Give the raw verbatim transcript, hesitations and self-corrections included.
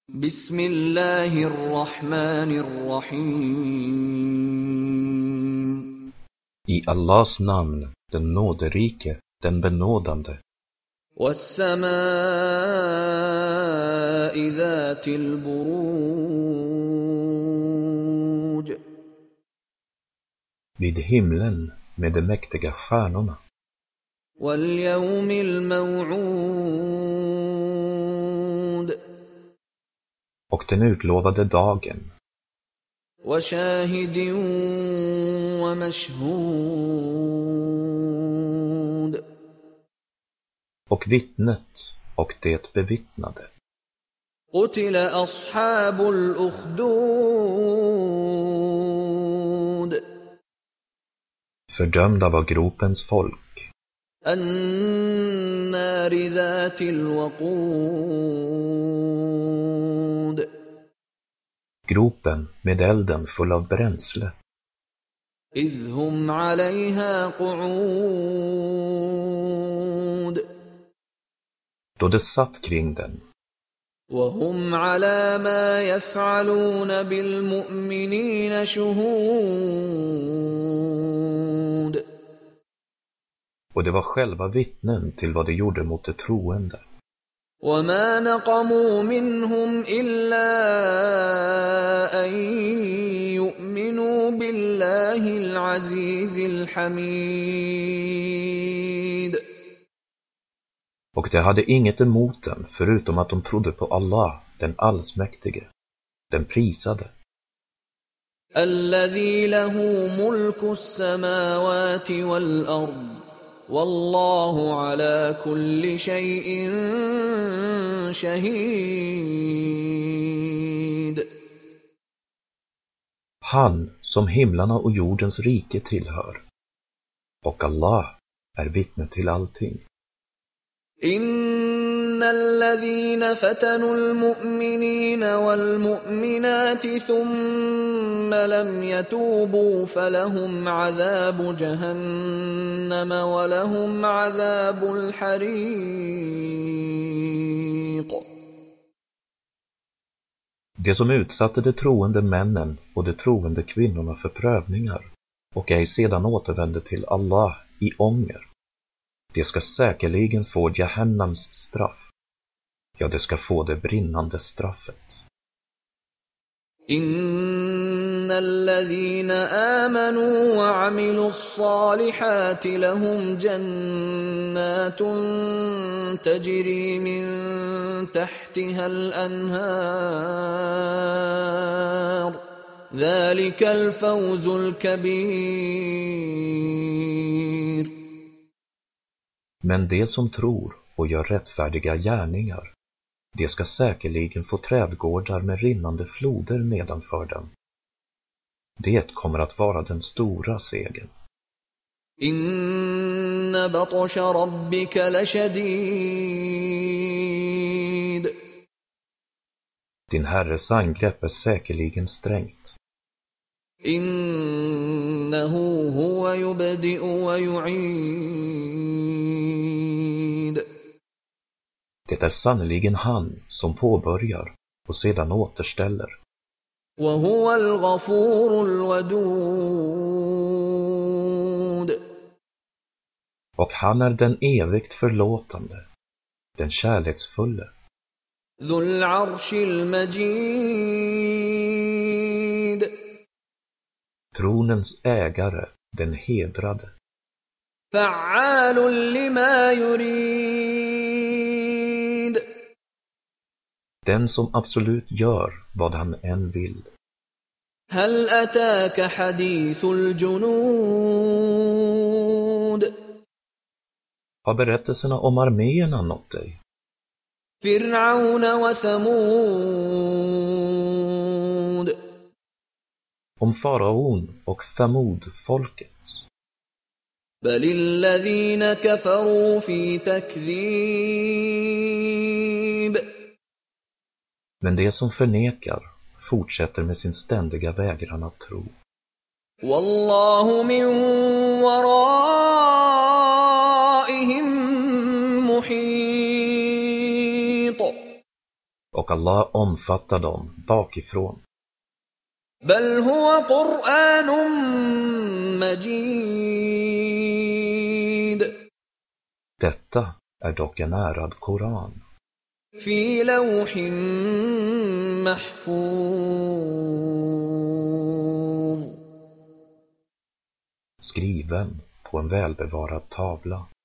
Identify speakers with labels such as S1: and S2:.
S1: Bismillahirrahmanirrahim.
S2: I Allahs namn, den nåderike, den benådande.
S1: Was-samaa'i dhatil buruj.
S2: Vid himlen med de mäktiga stjärnorna.
S1: Wal-yawmil maw'ud.
S2: Och den utlovade dagen.
S1: Wa shahidin wa mashhud.
S2: Och vittnet och det bevittnade.
S1: Qutila ashabul ukhdud.
S2: Fördömda var gropens folk.
S1: An-nari dhatil waqud.
S2: Gropen med elden full av bränsle.
S1: Idhum 'alayha qu'ud.
S2: Då det satt kring den.
S1: Wa hum 'ala ma yaf'aluna bil mu'minina shuhud.
S2: Och det var själva vittnen till vad de gjorde mot de troende.
S1: وَمَا نَقَمُوا مِنْهُمْ إِلَّا أَنْ يُؤْمِنُوا بِاللَّهِ الْعَزِيزِ الْحَمِيدِ.
S2: Och de hade inget emot dem förutom att de trodde på Allah, den allsmäktige, den prisade.
S1: الَّذِي لَهُ مُلْكُ السَّمَاوَاتِ وَالْأَرْضِ. Wallahu ala kulli shay'in shahid.
S2: Han som himlarna och jordens rike tillhör. Och Allah är vittne till allting.
S1: Innal ladhina fatanu al-mu'minina wal-mu'minati thumma lam yatubu falahum 'adhabu jahannam wa lahum 'adhabul hariq.
S2: Det som utsatte de troende männen och de troende kvinnorna för prövningar och ej sedan återvände till Allah i ånger. Det ska säkerligen få Jahannams straff. Ja, det ska få det brinnande straffet.
S1: Innal ladhina amanu wa 'amilus salihati lahum jannatun tajri min tahtiha al-anhar. Dhalika al-fawzul kabir.
S2: Men de som tror och gör rättfärdiga gärningar, de ska säkerligen få trädgårdar med rinnande floder nedanför dem. Det kommer att vara den stora segern.
S1: Inna batsha rabbika lashadid.
S2: Din herres angrepp är säkerligen strängt.
S1: Innahu huwa yubdi'u wa yu'id.
S2: Det är sannoliken han som påbörjar och sedan återställer.
S1: Wa huwa al-ghafurul wadud.
S2: Och han är den evigt förlåtande, den kärleksfulle.
S1: Dhul 'arshil majid.
S2: Tronens ägare, den hedrade.
S1: Fa'alun lima yurid.
S2: Den som absolut gör vad han än vill.
S1: Hal ataka hadithul junud.
S2: Har berättelserna om arméerna nått dig?
S1: Fir'auna wa thamud.
S2: Om faraon och Thamud-folket.
S1: Balil ladhina kafaru fi takdhib.
S2: Men det som förnekar fortsätter med sin ständiga vägran att tro.
S1: Wallahu min waraihim muhit.
S2: och Allah omfattar dem bakifrån.
S1: بل هو قرآن مجيد
S2: Detta är dock en ärad Koran,
S1: في لوح محفوظ
S2: skriven på en välbevarad tavla.